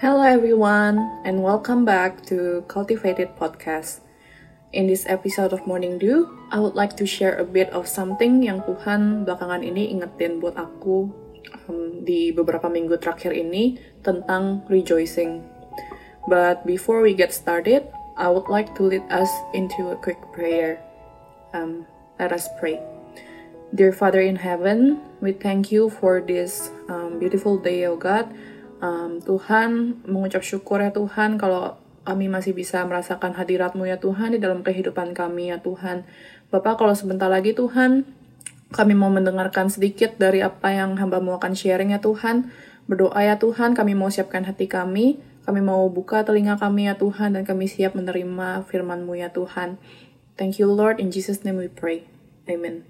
Hello everyone, and welcome back to Cultivated Podcast. In this episode of Morning Dew, I would like to share a bit of something yang Tuhan belakangan ini ingetin buat aku di beberapa minggu terakhir ini tentang rejoicing. But before we get started, I would like to lead us into a quick prayer. Let us pray. Dear Father in heaven, we thank you for this beautiful day, oh God. Tuhan, mengucap syukur ya Tuhan kalau kami masih bisa merasakan hadirat-Mu ya Tuhan di dalam kehidupan kami ya Tuhan. Bapak, kalau sebentar lagi Tuhan, kami mau mendengarkan sedikit dari apa yang hamba-Mu akan sharing ya Tuhan. Berdoa ya Tuhan, kami mau siapkan hati kami mau buka telinga kami ya Tuhan, dan kami siap menerima firman-Mu ya Tuhan. Thank you Lord, in Jesus' name we pray. Amen.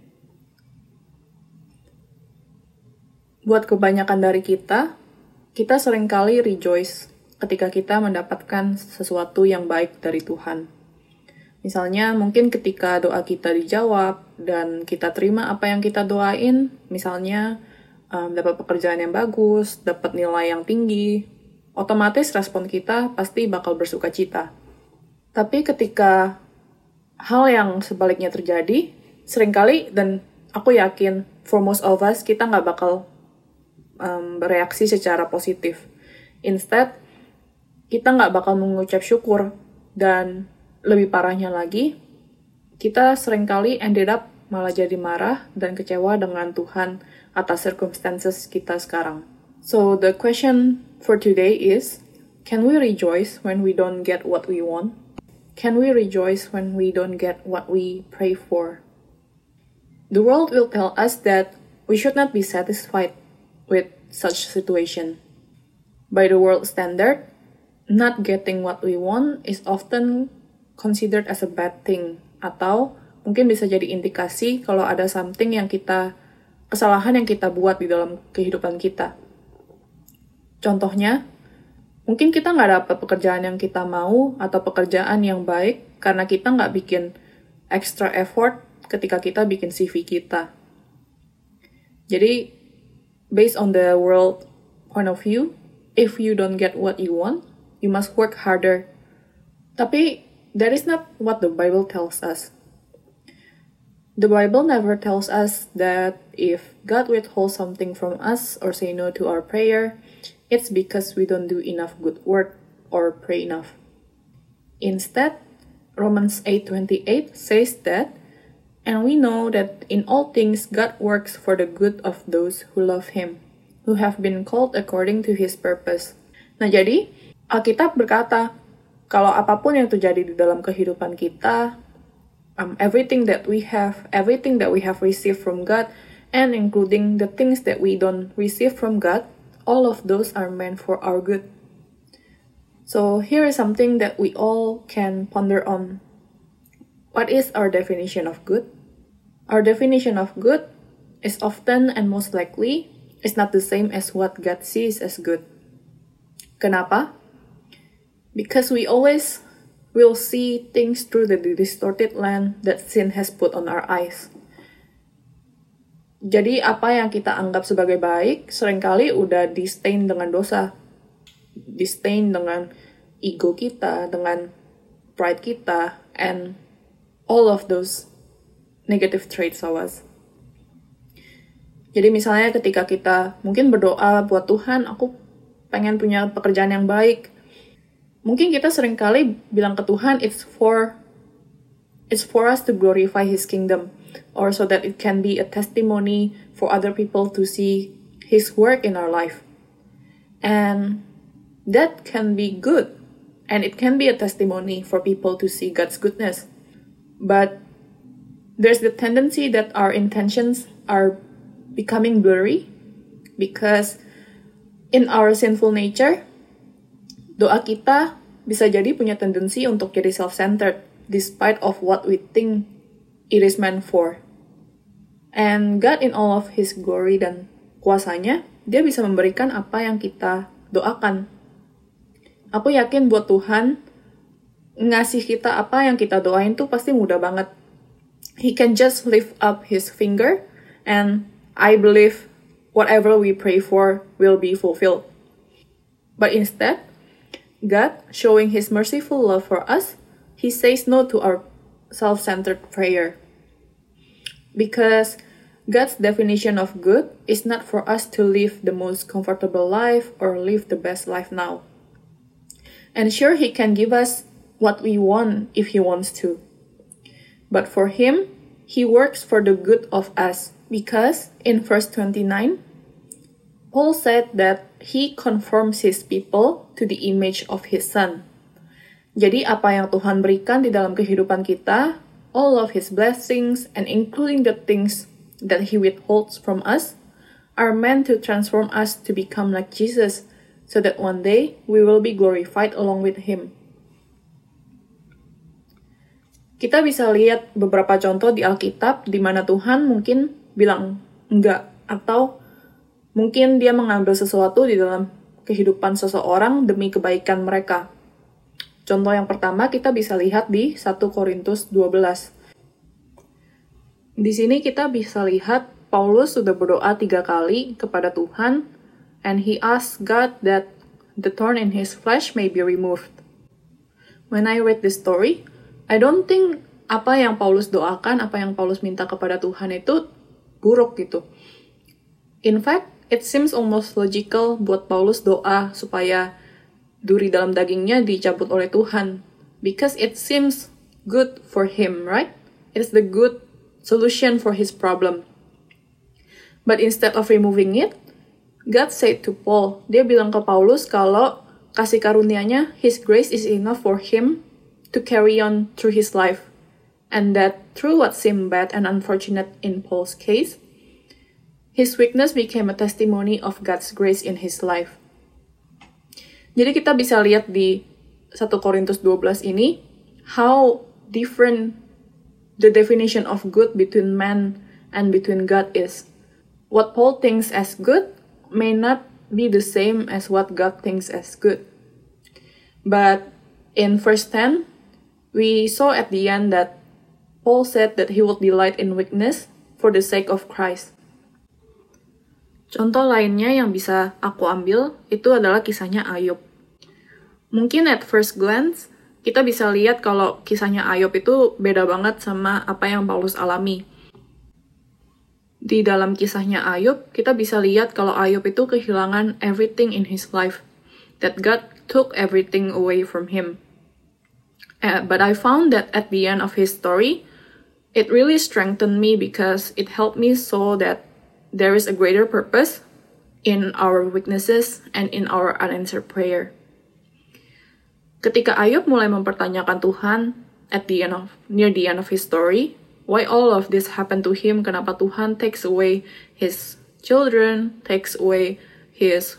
Buat kebanyakan dari kita seringkali rejoice ketika kita mendapatkan sesuatu yang baik dari Tuhan. Misalnya, mungkin ketika doa kita dijawab dan kita terima apa yang kita doain, misalnya dapat pekerjaan yang bagus, dapat nilai yang tinggi, otomatis respon kita pasti bakal bersuka cita. Tapi ketika hal yang sebaliknya terjadi, seringkali, dan aku yakin for most of us, kita nggak bakal bereaksi secara positif. Instead, kita nggak bakal mengucap syukur, dan lebih parahnya lagi, kita seringkali ended up malah jadi marah dan kecewa dengan Tuhan atas circumstances kita sekarang. So the question for today is, can we rejoice when we don't get what we want? Can we rejoice when we don't get what we pray for? The world will tell us that we should not be satisfied with such situation. By the world standard, not getting what we want is often considered as a bad thing, atau mungkin bisa jadi indikasi kalau ada kesalahan yang kita buat di dalam kehidupan kita. Contohnya, mungkin kita nggak dapat pekerjaan yang kita mau atau pekerjaan yang baik karena kita nggak bikin extra effort ketika kita bikin CV kita. Jadi, based on the world point of view, if you don't get what you want, you must work harder. Tapi that is not what the Bible tells us. The Bible never tells us that if God withholds something from us or say no to our prayer, it's because we don't do enough good work or pray enough. Instead, Romans 8:28 says that, and we know that in all things God works for the good of those who love Him, who have been called according to His purpose. Nah jadi, Alkitab berkata, kalau apapun yang terjadi di dalam kehidupan kita, everything that we have received from God, and including the things that we don't receive from God, all of those are meant for our good. So here is something that we all can ponder on. What is our definition of good? Our definition of good is often and most likely is not the same as what God sees as good. Kenapa? Because we always will see things through the distorted lens that sin has put on our eyes. Jadi apa yang kita anggap sebagai baik seringkali udah distain dengan dosa. Distain dengan ego kita, dengan pride kita, and all of those negative traits of us. Jadi misalnya ketika kita mungkin berdoa buat Tuhan, aku pengen punya pekerjaan yang baik. Mungkin kita seringkali bilang ke Tuhan, it's for us to glorify His kingdom, or so that it can be a testimony for other people to see His work in our life. And that can be good, and it can be a testimony for people to see God's goodness. But there's the tendency that our intentions are becoming blurry because in our sinful nature, doa kita bisa jadi punya tendensi untuk jadi self-centered despite of what we think it is meant for. And God in all of His glory dan kuasanya, Dia bisa memberikan apa yang kita doakan. Aku yakin buat Tuhan, ngasih kita apa yang kita doain tuh pasti mudah banget. He can just lift up His finger, and I believe whatever we pray for will be fulfilled. But instead, God, showing His merciful love for us, He says no to our self-centered prayer. Because God's definition of good is not for us to live the most comfortable life or live the best life now. And sure, He can give us what we want if He wants to. But for Him, He works for the good of us, because in verse 29, Paul said that He conforms His people to the image of His Son. Jadi apa yang Tuhan berikan di dalam kehidupan kita, all of His blessings and including the things that He withholds from us, are meant to transform us to become like Jesus, so that one day we will be glorified along with Him. Kita bisa lihat beberapa contoh di Alkitab di mana Tuhan mungkin bilang enggak, atau mungkin Dia mengambil sesuatu di dalam kehidupan seseorang demi kebaikan mereka. Contoh yang pertama kita bisa lihat di 1 Korintus 12. Di sini kita bisa lihat Paulus sudah berdoa 3 kali kepada Tuhan, and he asked God that the thorn in his flesh may be removed. When I read this story, I don't think apa yang Paulus doakan, apa yang Paulus minta kepada Tuhan itu buruk gitu. In fact, it seems almost logical buat Paulus doa supaya duri dalam dagingnya dicabut oleh Tuhan. Because it seems good for him, right? It's the good solution for his problem. But instead of removing it, God said to Paul, Dia bilang ke Paulus kalau kasih karunia-Nya, His grace is enough for him to carry on through his life, and that through what seemed bad and unfortunate in Paul's case, his weakness became a testimony of God's grace in his life. Jadi kita bisa lihat di 1 Korintus 12 ini, how different the definition of good between man and between God is. What Paul thinks as good may not be the same as what God thinks as good. But in verse 10, we saw at the end that Paul said that he would delight in weakness for the sake of Christ. Contoh lainnya yang bisa aku ambil itu adalah kisahnya Ayub. Mungkin at first glance, kita bisa lihat kalau kisahnya Ayub itu beda banget sama apa yang Paulus alami. Di dalam kisahnya Ayub, kita bisa lihat kalau Ayub itu kehilangan everything in his life, that God took everything away from him. But I found that at the end of his story, it really strengthened me because it helped me so that there is a greater purpose in our weaknesses and in our unanswered prayer. Ketika Ayub mulai mempertanyakan Tuhan near the end of his story, why all of this happened to him, kenapa Tuhan takes away his children, takes away his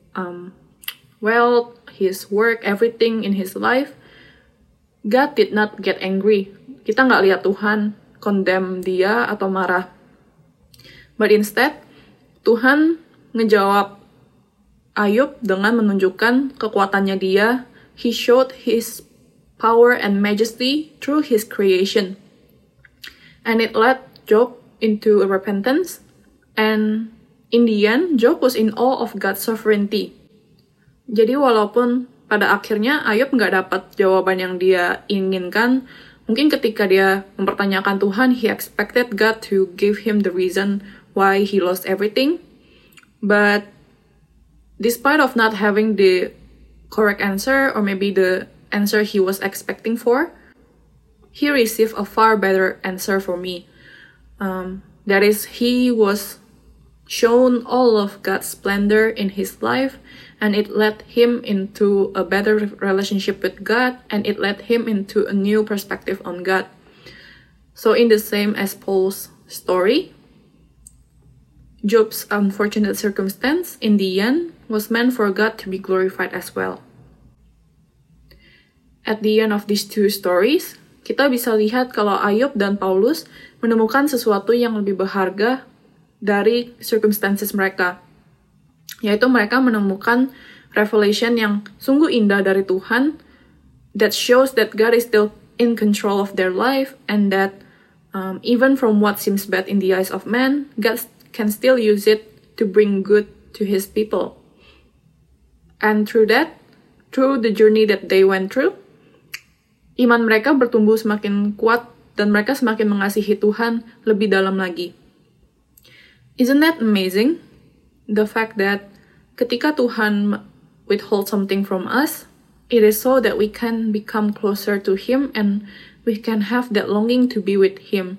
wealth, his work, everything in his life, God did not get angry. Kita nggak lihat Tuhan condemn dia atau marah. But instead, Tuhan ngejawab Ayub dengan menunjukkan kekuatannya dia. He showed his power and majesty through his creation. And it led Job into a repentance. And in the end, Job was in awe of God's sovereignty. Jadi walaupun pada akhirnya Ayub nggak dapat jawaban yang dia inginkan, mungkin ketika dia mempertanyakan Tuhan, he expected God to give him the reason why he lost everything. But despite of not having the correct answer, or maybe the answer he was expecting for, he received a far better answer for me. That is, he was shown all of God's splendor in his life, and it led him into a better relationship with God, and it led him into a new perspective on God. So in the same as Paul's story, Job's unfortunate circumstance in the end was meant for God to be glorified as well. At the end of these two stories, kita bisa lihat kalau Ayub dan Paulus menemukan sesuatu yang lebih berharga dari circumstances mereka. Yaitu mereka menemukan revelation yang sungguh indah dari Tuhan that shows that God is still in control of their life, and that even from what seems bad in the eyes of man, God can still use it to bring good to his people. And through that, through the journey that they went through, iman mereka bertumbuh semakin kuat dan mereka semakin mengasihi Tuhan lebih dalam lagi. Isn't that amazing? The fact that ketika Tuhan withhold something from us, it is so that we can become closer to Him and we can have that longing to be with Him.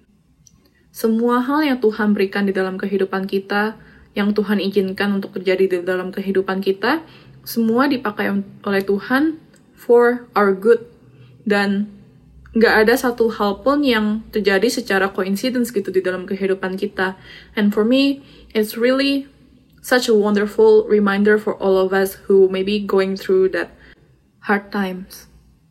Semua hal yang Tuhan berikan di dalam kehidupan kita, yang Tuhan izinkan untuk terjadi di dalam kehidupan kita, semua dipakai oleh Tuhan for our good. Dan nggak ada satu hal pun yang terjadi secara coincidence gitu di dalam kehidupan kita. And for me, it's really such a wonderful reminder for all of us who may be going through that hard times.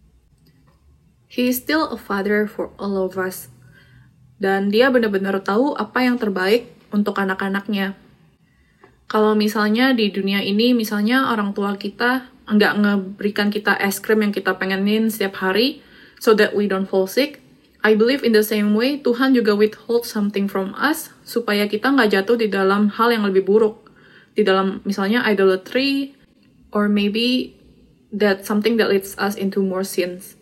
He is still a father for all of us. Dan dia benar-benar tahu apa yang terbaik untuk anak-anaknya. Kalau misalnya di dunia ini, misalnya orang tua kita nggak ngeberikan kita es krim yang kita pengenin setiap hari, so that we don't fall sick, I believe in the same way, Tuhan juga withhold something from us, supaya kita nggak jatuh di dalam hal yang lebih buruk. Di dalam misalnya idolatry, or maybe that something that leads us into more sins.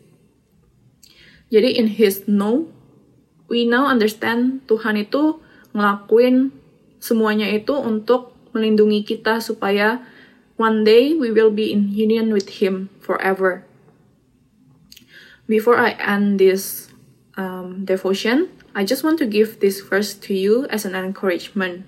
Jadi in His no, we now understand Tuhan itu ngelakuin semuanya itu untuk melindungi kita supaya one day we will be in union with Him forever. Before I end this devotion, I just want to give this verse to you as an encouragement.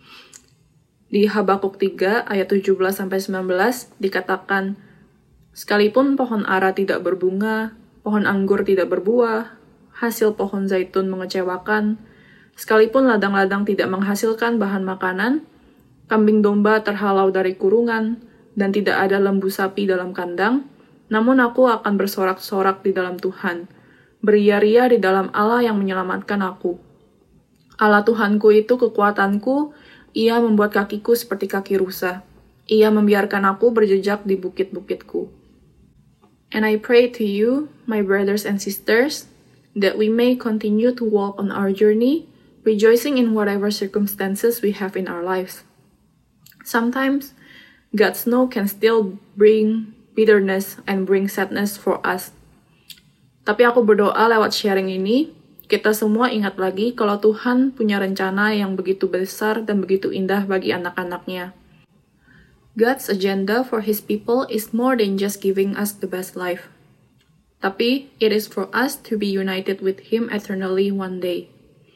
Di Habakuk 3 ayat 17-19 dikatakan, sekalipun pohon ara tidak berbunga, pohon anggur tidak berbuah, hasil pohon zaitun mengecewakan, sekalipun ladang-ladang tidak menghasilkan bahan makanan, kambing domba terhalau dari kurungan, dan tidak ada lembu sapi dalam kandang, namun aku akan bersorak-sorak di dalam Tuhan, beria-ria di dalam Allah yang menyelamatkan aku. Allah Tuhanku itu kekuatanku, Ia membuat kakiku seperti kaki rusa. Ia membiarkan aku berjejak di bukit-bukitku. And I pray to you, my brothers and sisters, that we may continue to walk on our journey, rejoicing in whatever circumstances we have in our lives. Sometimes, God's no can still bring bitterness and bring sadness for us. Tapi aku berdoa lewat sharing ini, kita semua ingat lagi kalau Tuhan punya rencana yang begitu besar dan begitu indah bagi anak-anaknya. God's agenda for His people is more than just giving us the best life. Tapi, it is for us to be united with Him eternally one day.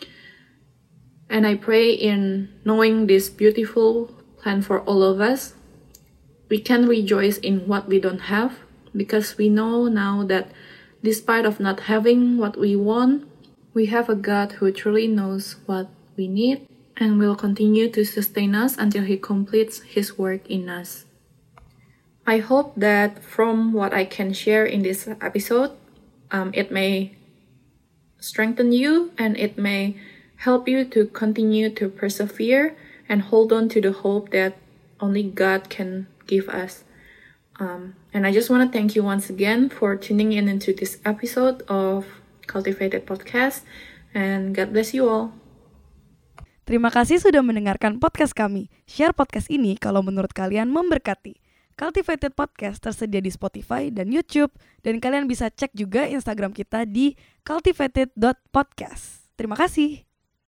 And I pray in knowing this beautiful plan for all of us, we can rejoice in what we don't have, because we know now that despite of not having what we want, we have a God who truly knows what we need and will continue to sustain us until He completes His work in us. I hope that from what I can share in this episode, it may strengthen you and it may help you to continue to persevere and hold on to the hope that only God can give us. And I just want to thank you once again for tuning in into this episode of Cultivated Podcast, and God bless you all. Terima kasih sudah mendengarkan podcast kami. Share podcast ini kalau menurut kalian memberkati. Cultivated Podcast tersedia di Spotify dan YouTube, dan kalian bisa cek juga Instagram kita di cultivated.podcast. Terima kasih.